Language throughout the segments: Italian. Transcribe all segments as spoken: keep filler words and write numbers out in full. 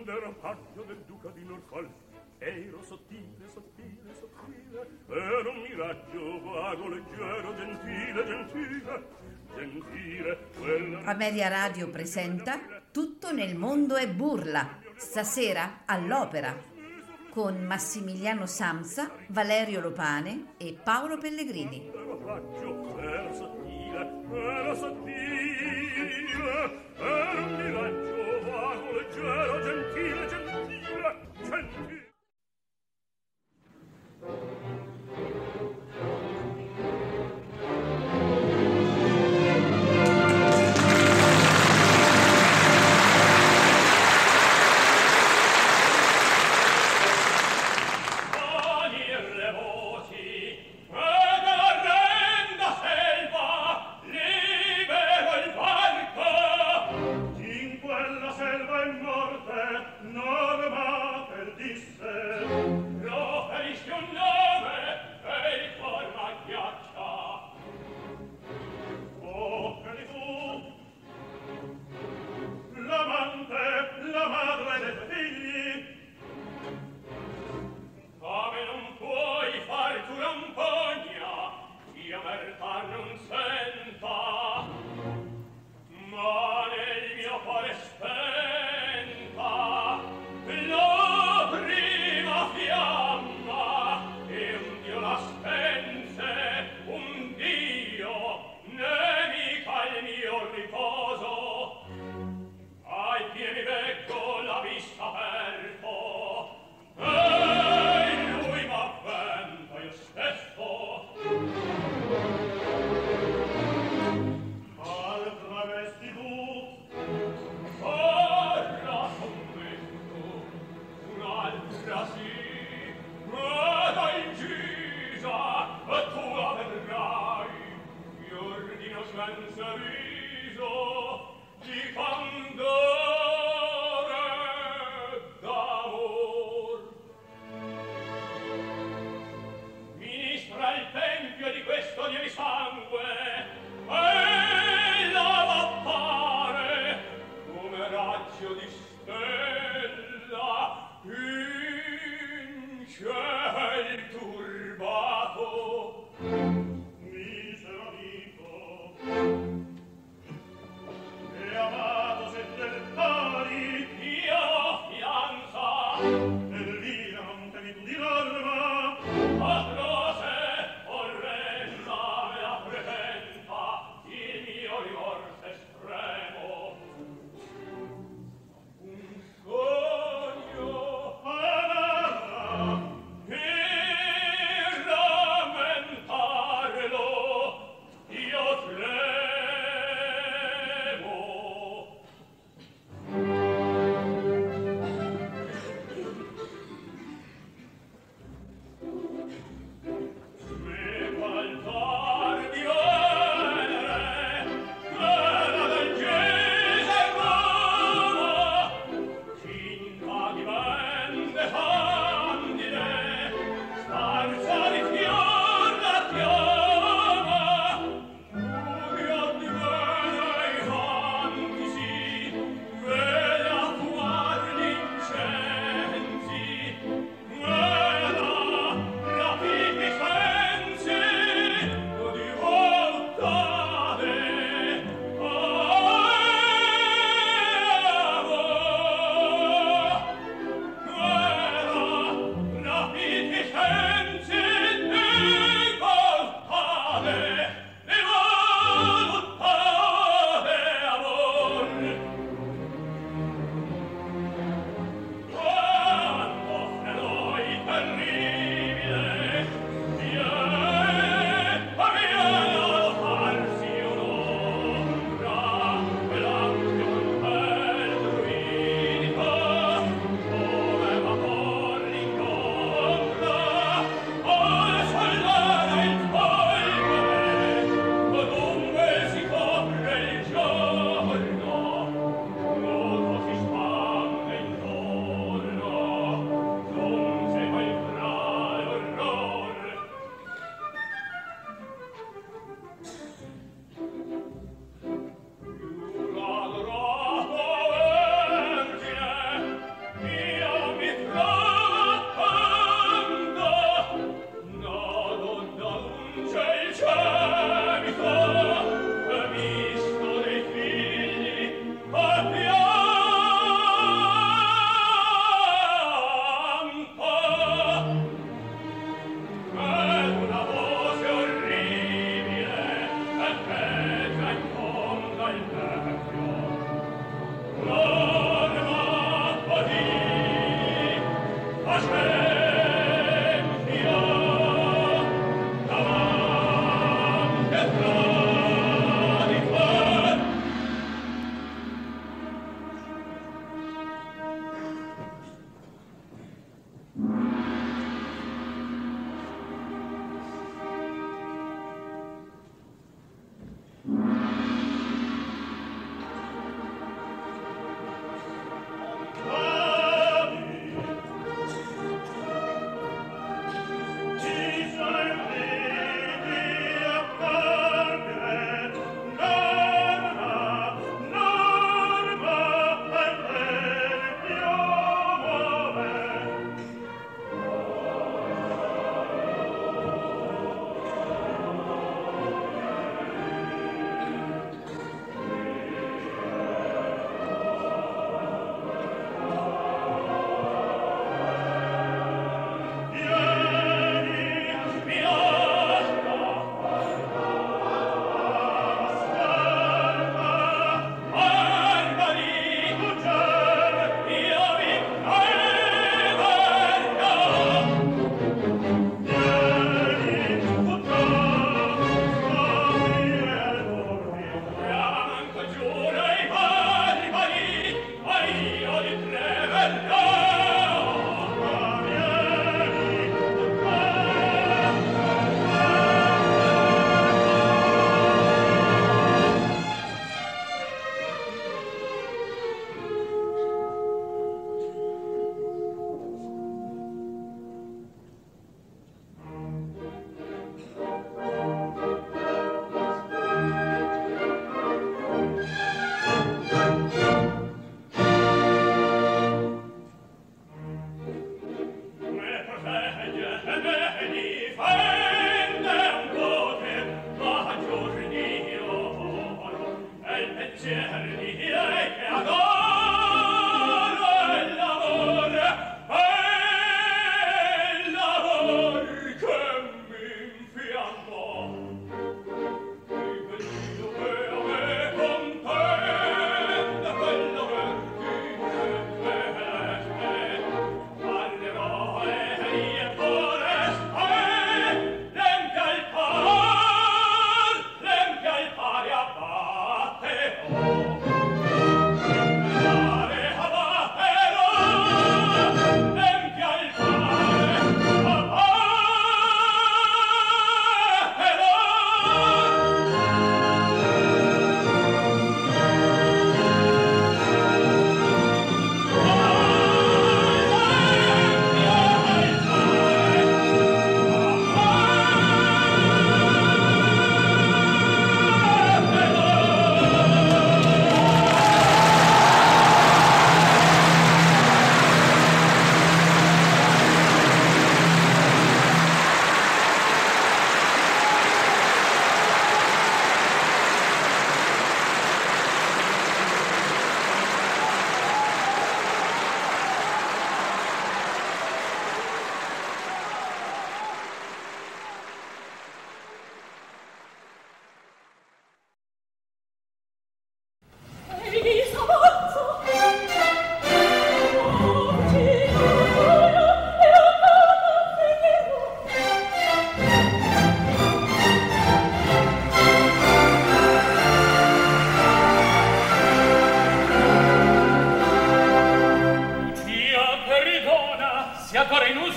Ero paglio del duca di Norfolk, ero sottile, sottile, sottile, ero un miraggio vago, leggero, gentile, gentile, gentile. Quella... Ameria Radio presenta Tutto nel mondo è burla, stasera all'Opera, con Massimiliano Samsa, Valerio Lopane e Paolo Pellegrini. Ero paglio, ero sottile, ero sottile, ero un miraggio vago, leggero, gentile, gentile, gentile.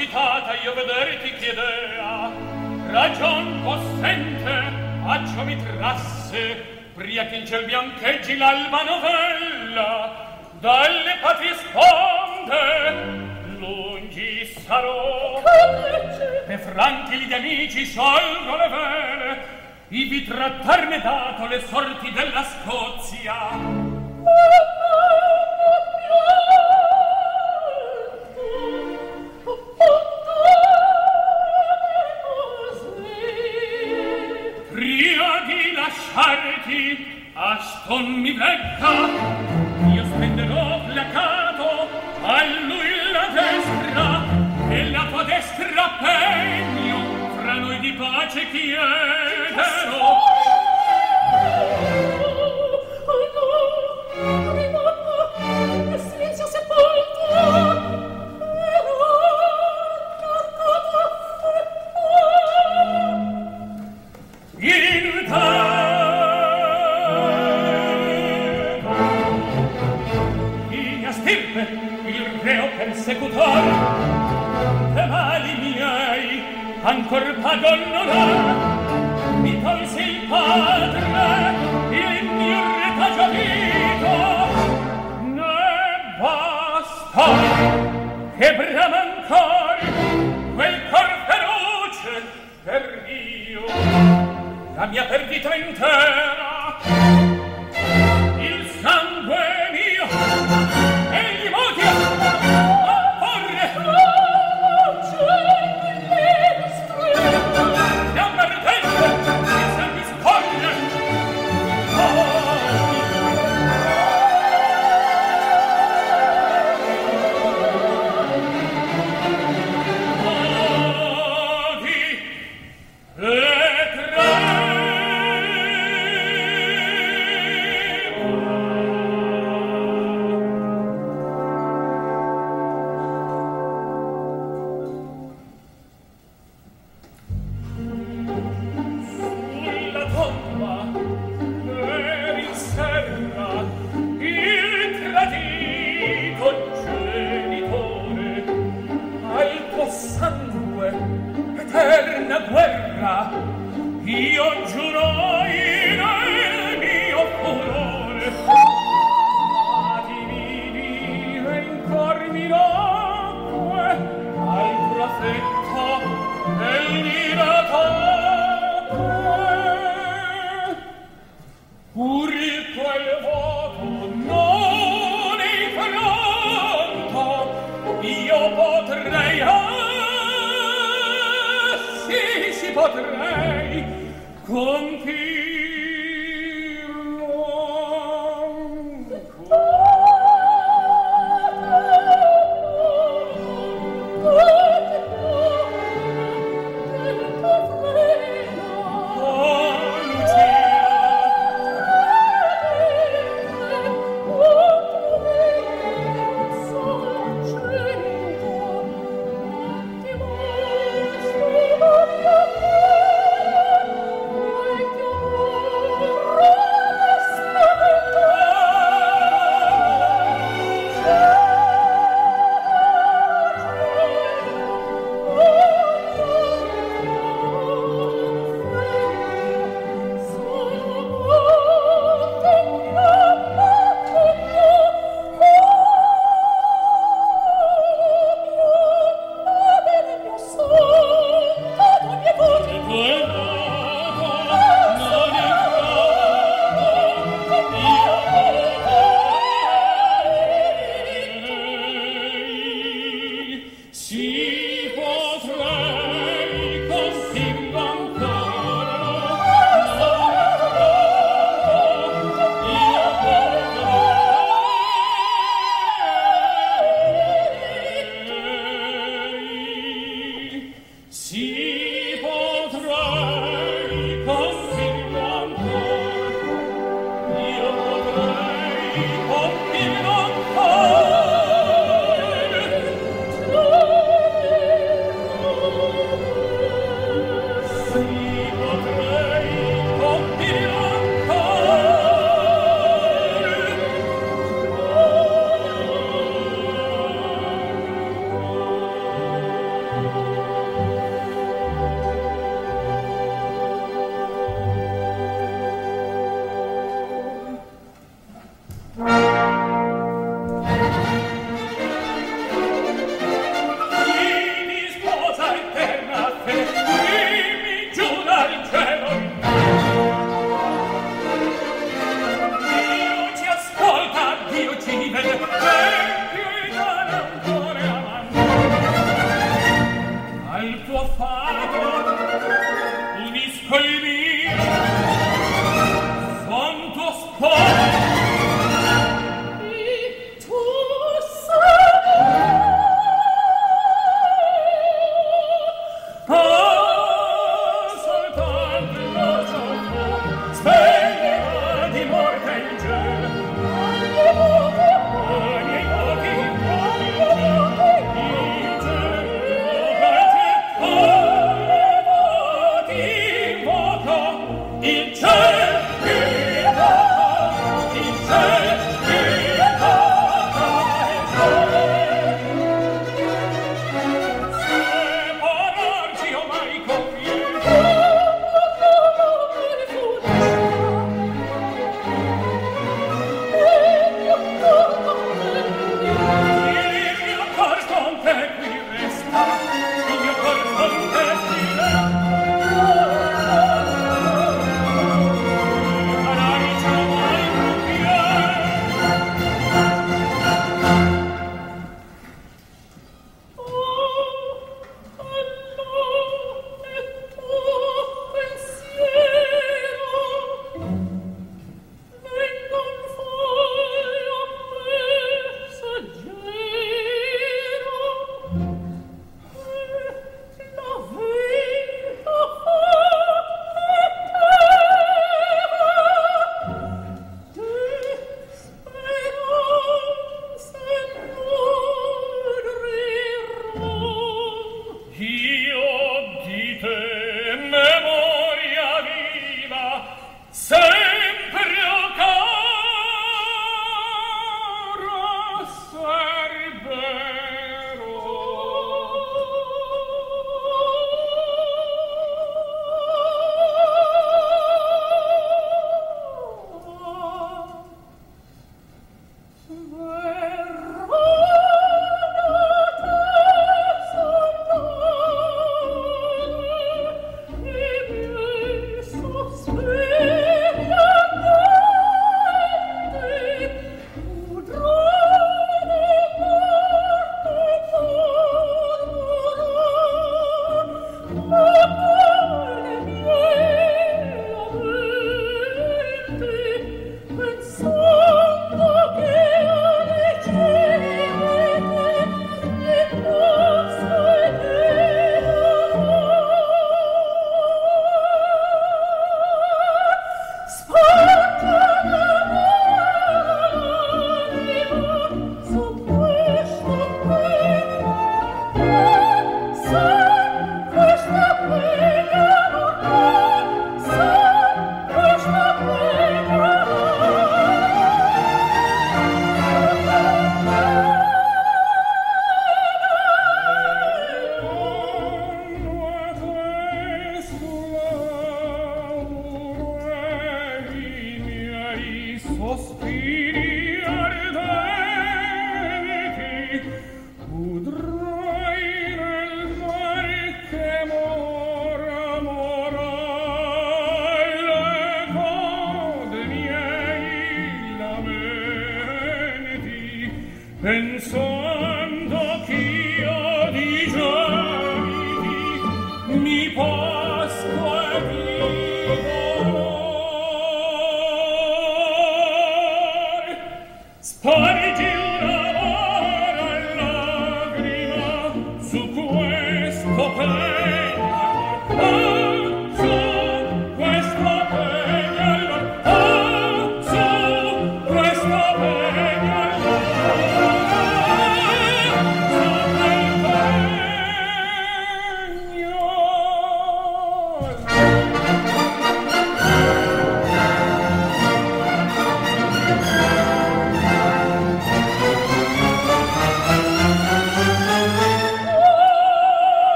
suscitata io vedere ti chiedea, ragion possente a ciò mi trasse, pria che in ciel biancheggi l'alba novella, dalle patrie sponde lungi sarò, e franchi gli amici sciolgo le vele, ivi trattarne dato le sorti della Scozia. Prima di lasciarti, Aston mi vegga, io spenderò placato a lui la destra, e la tua destra pegno fra noi di pace chiederò. Silenzio sepolto. In tempo in mia stirpe il reo persecutor e mali miei ancor pago non ha, mi tolse il padre il mio retaggio vito, ne basta che brama ancor quel cor feroce per io la mia perdita intera, il sangue mio e gli moti a porre fiamma ardente il sangue scorre. Io giuro in il mio furore a divini e in cor mi nacque al profetto dell'iratate, pur il quel voto non infranto io potrei, ah sì si potrei compirlo Thank you.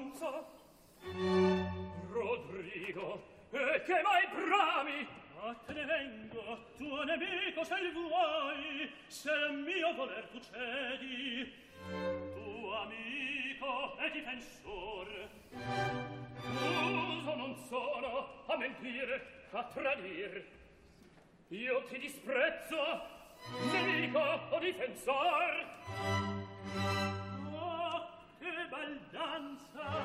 stanza. Rodrigo, e che mai brami? A te ne vengo, tuo nemico se il vuoi, se il mio voler tu cedi. Tuo amico e difensor, uso non sono a mentire, a tradir. Io ti disprezzo, nemico o difensor. Oh, che baldanza!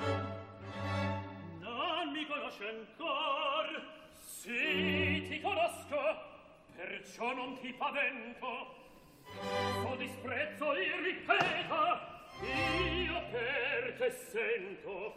Non mi conosci ancor? Sì, ti conosco, perciò non ti pavento. So disprezzo il ripeto, io per te sento.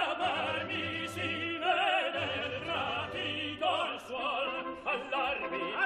Allarmi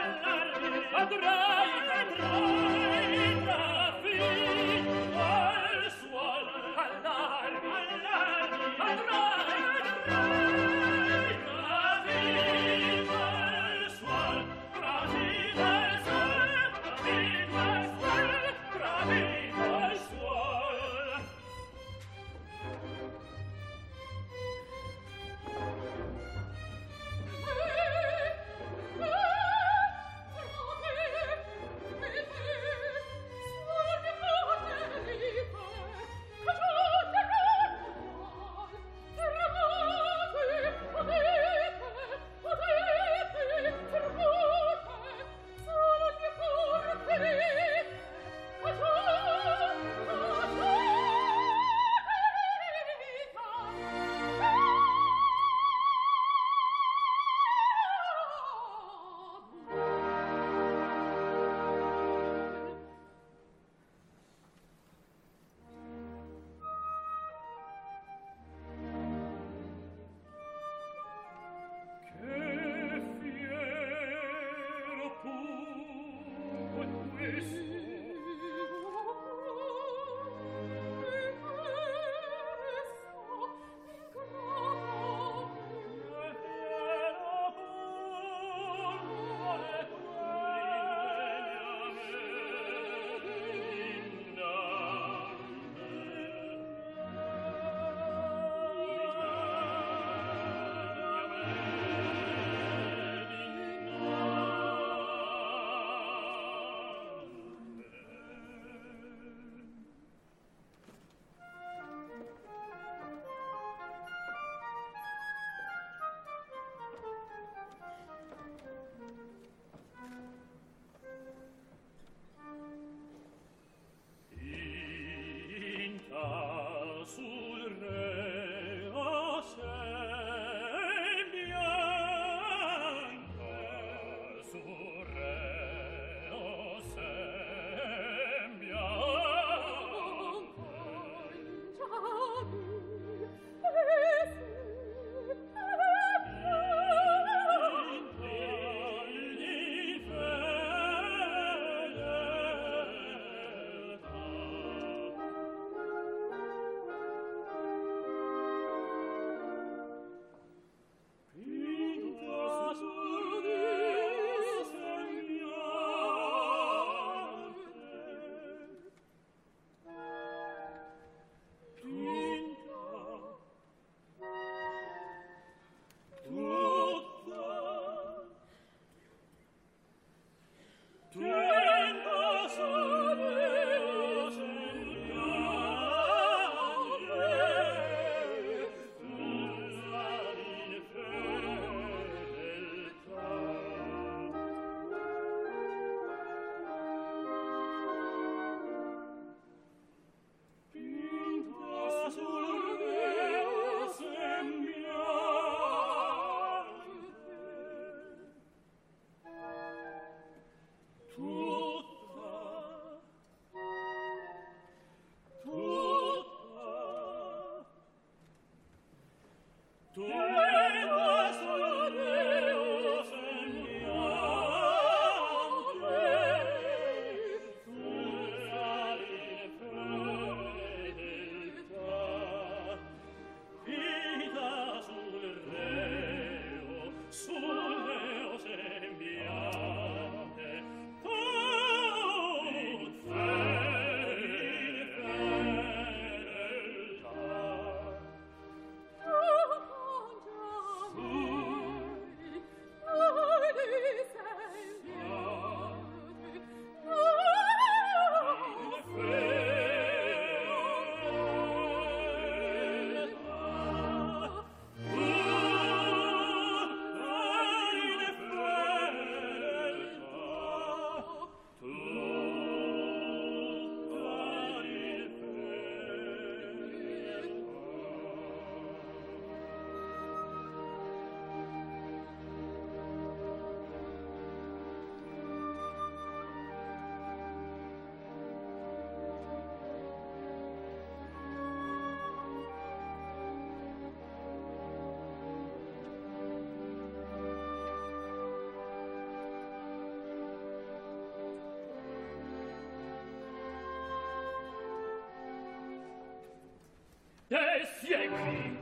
E siegui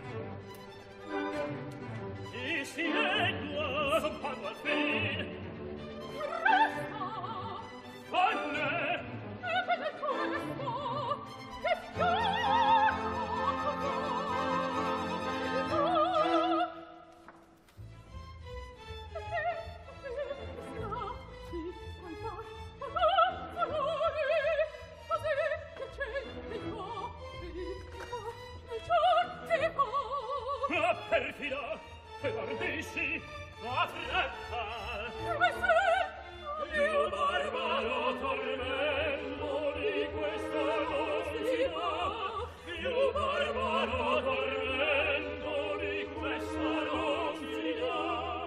e siegua son pago al fin resta fanne e che del cuore sto che fiore perfida che guardisci la fretta come se io barbaro tormento di questa rosità io barbaro tormento di questa rosità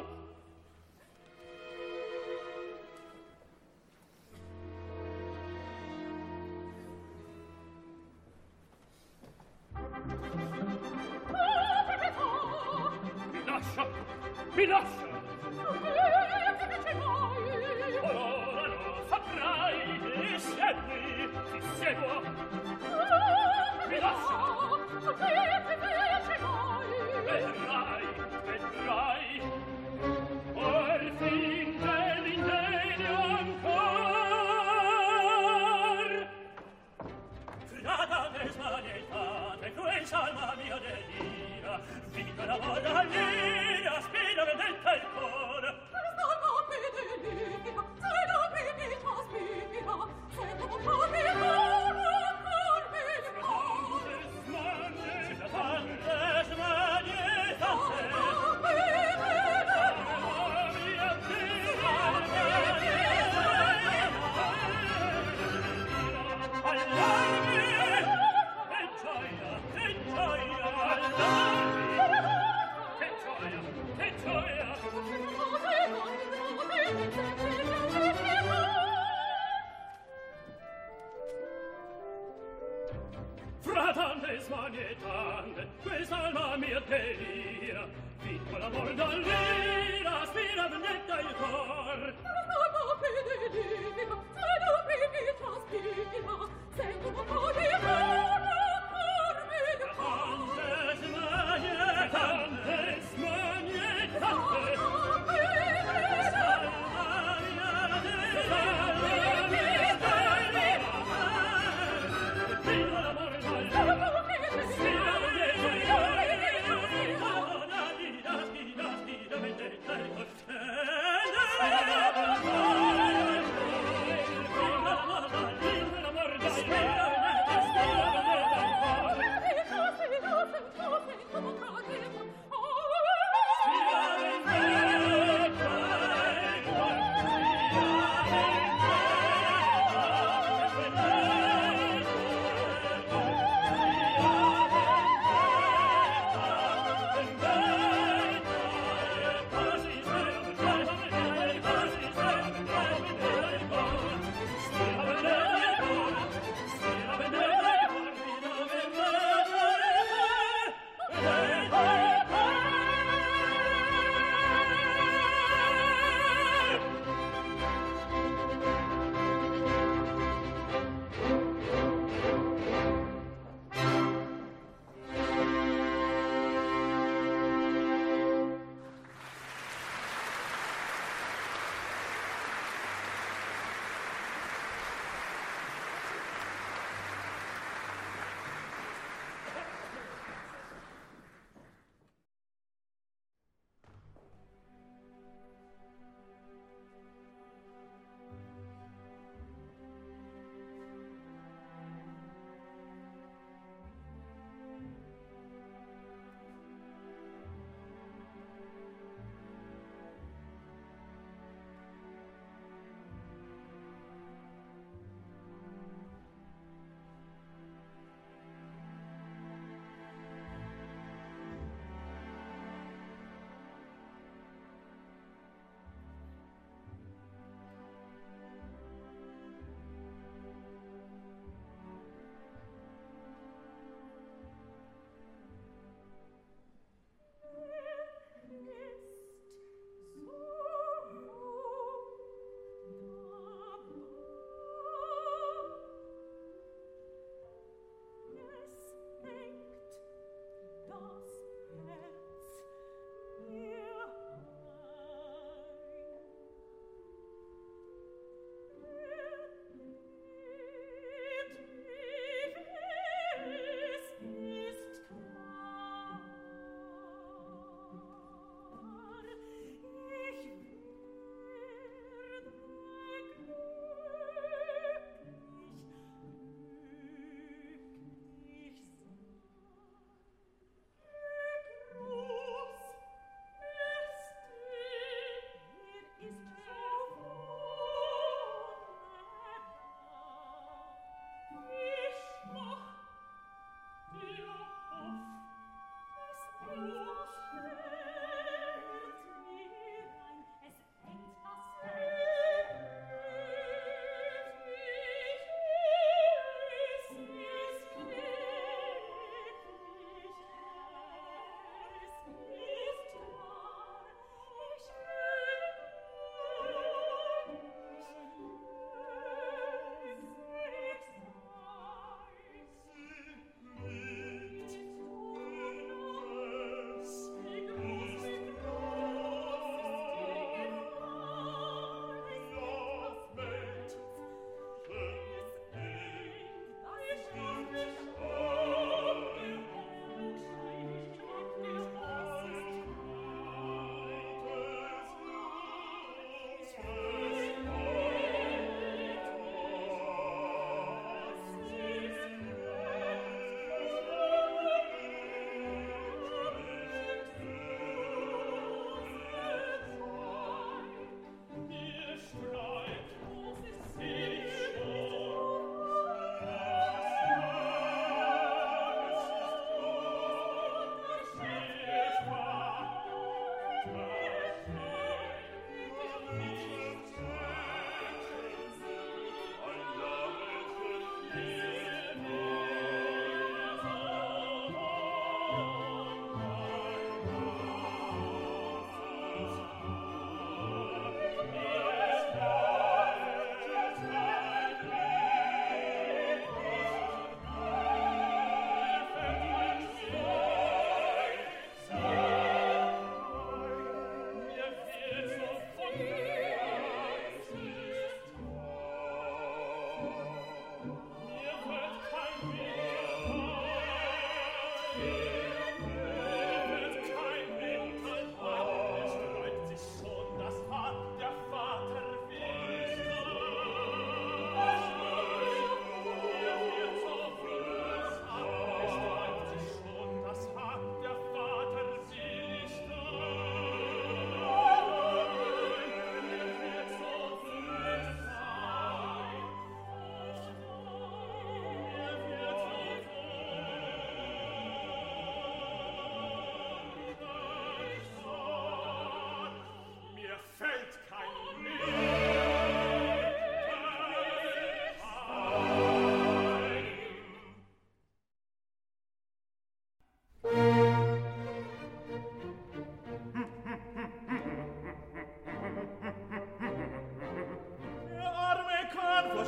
mi lascia! Che fece mai? Ora lo saprai, e segui, ti seguo! Mi lascia! Che fece mai? Vedrai, vedrai! Or fin dell'ingegno ancor! Frata me smanietate, quel salma mia delira, vita la voda all'ira, spina vendetta il cor. Salma fedelina, salma vendetta spina, se tu potevi ora corme il cor. Tante smanie, tante smanie, tante Fratante smanietante, questa alma mia delira, piccola morda all'ira, spira vendetta il cor. Salma fedelina, salma vendetta spina, se tu potevi ora corme il cor. Tante smanietante, tante smanietante, Thank you.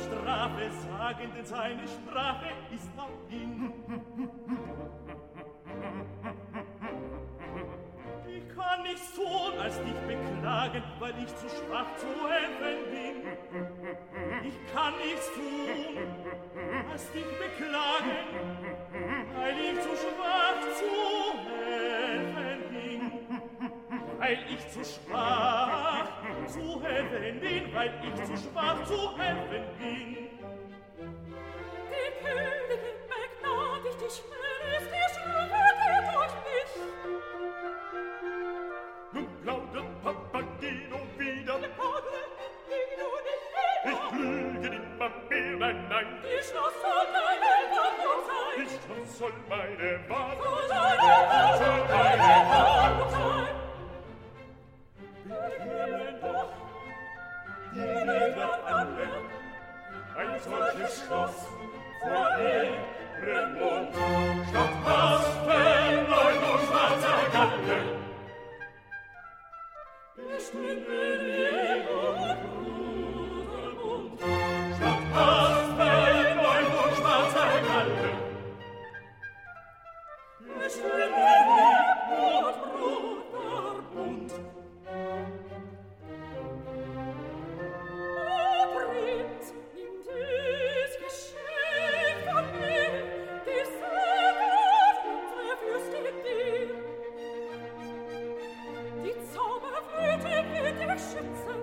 Strafe sagen, denn seine Sprache ist nach ihm. Ich kann nichts tun, als dich beklagen, weil ich zu schwach zu helfen bin. Ich kann nichts tun, als dich beklagen, weil ich zu schwach zu helfen bin. Weil ich zu schwach zu helfen bin, weil ich zu schwach zu helfen bin. Die Königin begnadigt dich, wenn es dir schwöret durch mich. Nun plaudert Papageno wieder. Der Padre, Papageno nicht wieder. Ich lüge immer mehr, nein, nein. Die Schloss soll deine Warnung sein. Die Schloss soll meine Warnung Soll sein. deine Soll Warnung, meine deine Warnung Warnung sein. Bekehren doch die Lieder alle ein solches Schloss vor ihrem Mund. Statt Masken, Leut und schwarzer Galle bestünde Liebe, Bruderbund. Statt Masken, Leut und schwarzer Galle bestünde Liebe, Bruderbund. Prinz, nimm dies Geschenk von mir, die Segel unsere Fürste dir. Die Zauberflöte wird dich schützen,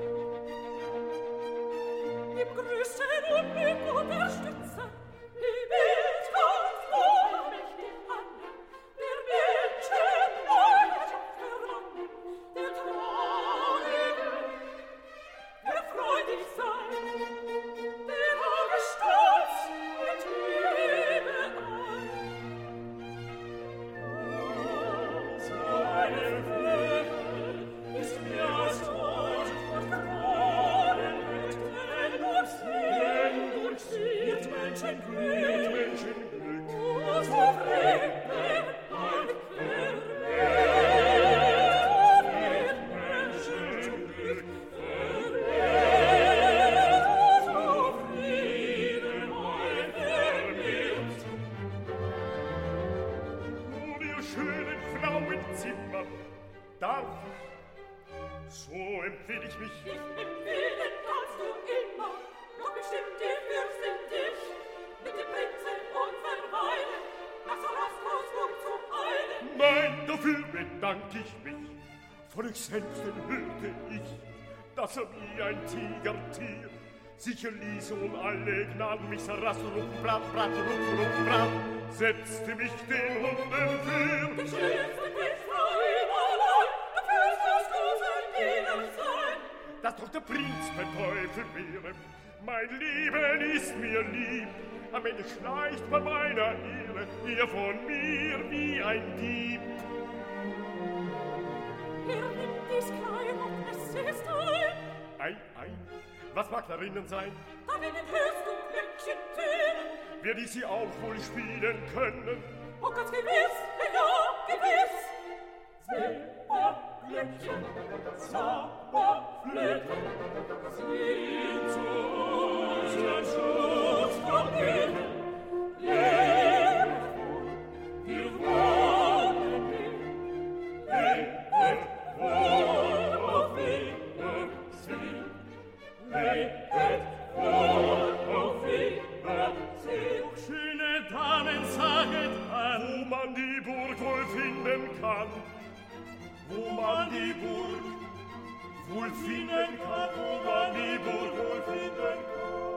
im größten Unglück unterstützen. Die Welt kommt vor mächtig an, der Menschen Leidenschaft verlangen, der Traurige, der freudig sein, der Auge stolz mit Liebe an. Seine Flügel ist mir als Tod und verloren wird, denn durch sie, durch sie ist Menschenglück, Menschenglück. o so Frieden und Verwehrt, wird Menschenglück verwehrt, o so Frieden und Verwehrt. Nun, ihr schönen Frauenzimmer, darf ich, so empfehl ich mich, Dich empfehlen kannst du immer, doch bestimmt die Fürstin dich, mit dem Prinzen unverweilen, nach Sarastros zu eilen. nein, dafür bedank ich mich. Von euch selbst hörte ich, dass er wie ein Tigertier sicher ließ und alle Gnaden mich Sarast, Ruck, Brat, Brat, Ruck, Ruck, Brat, setzte mich den Hunden für. Die schönste Prinzfrau überall, du fürstest du sein Diener sein. Dass doch der Prinz mein Teufel wäre, mein Leben ist mir lieb. Am Ende schleicht bei meiner Ehre ihr von mir wie ein Dieb. Er nimmt dies klein und es ist ein, Ei, ei, was mag darinnen sein? darin hörst du Glöckchen tönen. Werde ich sie auch wohl spielen können? Oh, ganz gewiss, ja, gewiss. Silberglöckchen, Zauberflöte, sind zu unserem Schutz verbunden. Lehret wohl, wir wollen dich. Lehret wohl, auf Wiedersehen. Lehret wohl, auf Wiedersehen. Schöne Damen, saget an, wo man die Burg wohl finden kann. Wo man die Burg wohl finden kann, wo man die Burg wohl finden kann.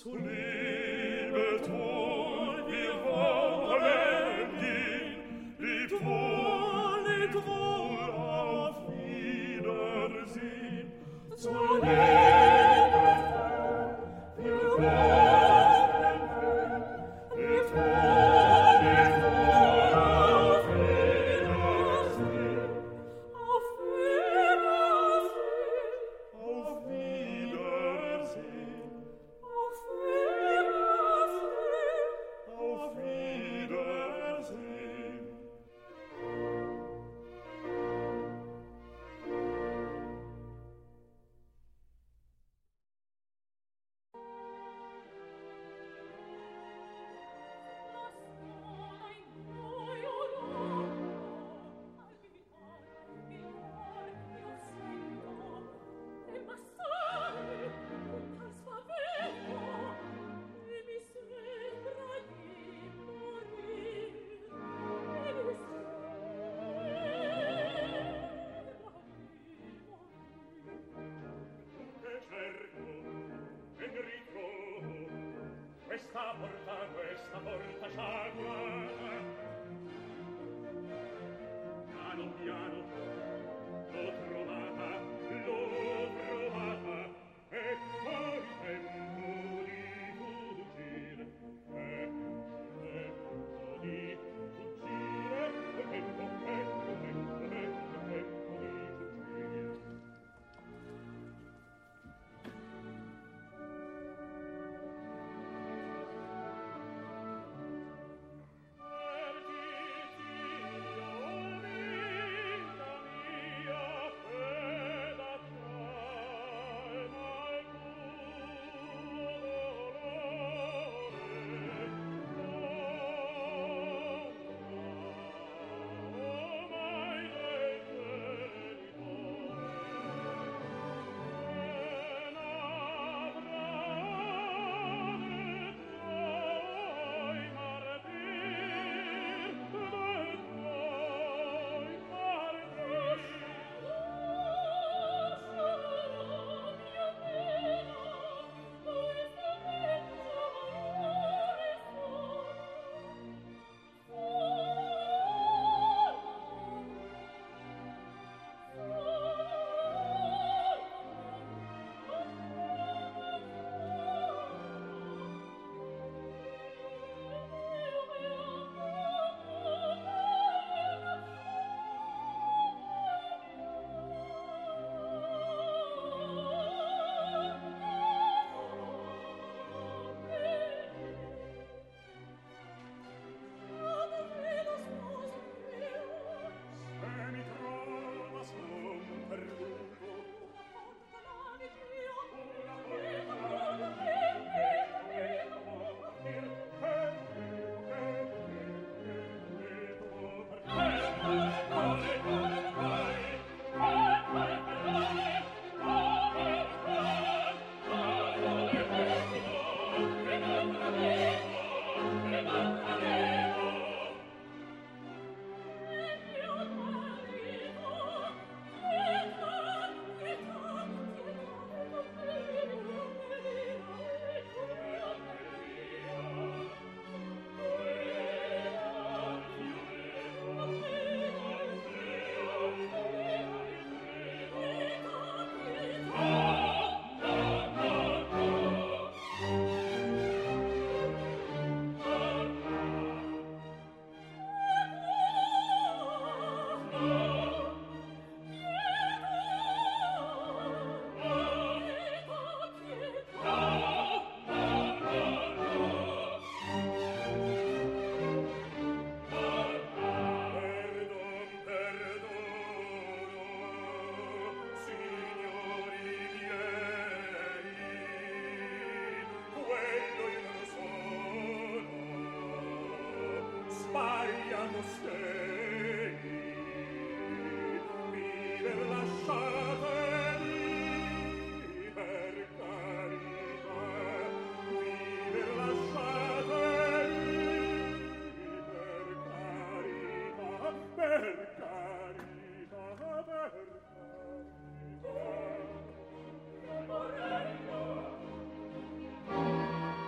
Io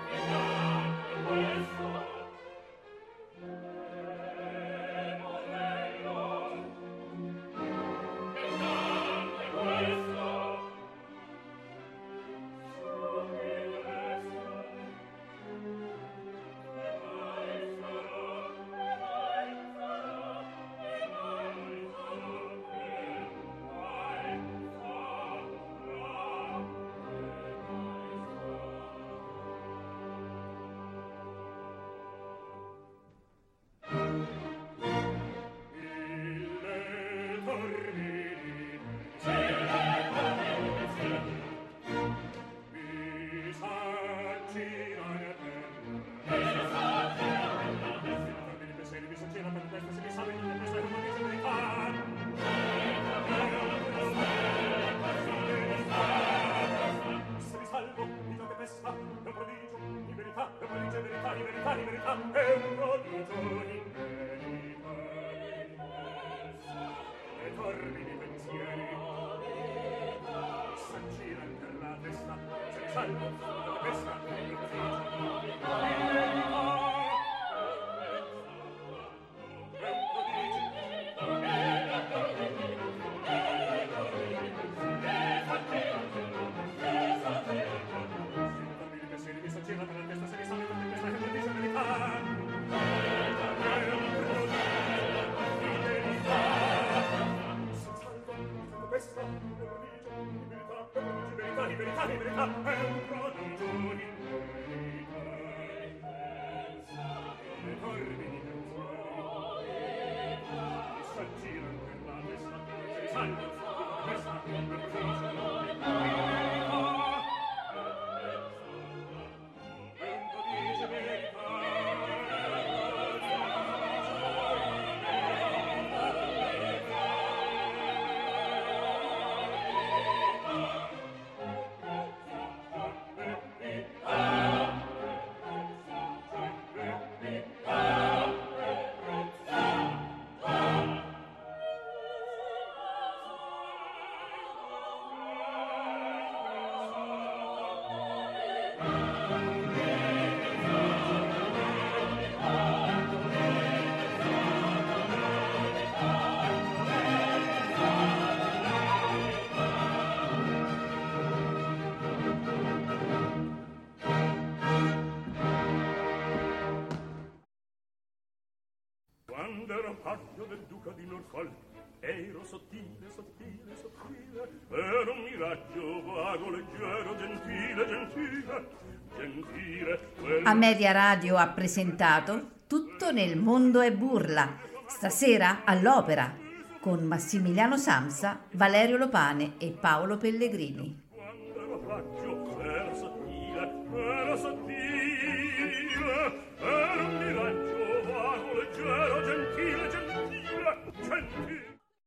Del duca di Norfolk ero sottile, sottile, sottile, ero un miraggio vago, leggero, gentile, gentile, gentile. Quella... Amedia Radio ha presentato Tutto nel mondo è burla, stasera all'Opera, con Massimiliano Samsa, Valerio Lopane e Paolo Pellegrini. Quando ero raggio, ero sottile, ero sottile.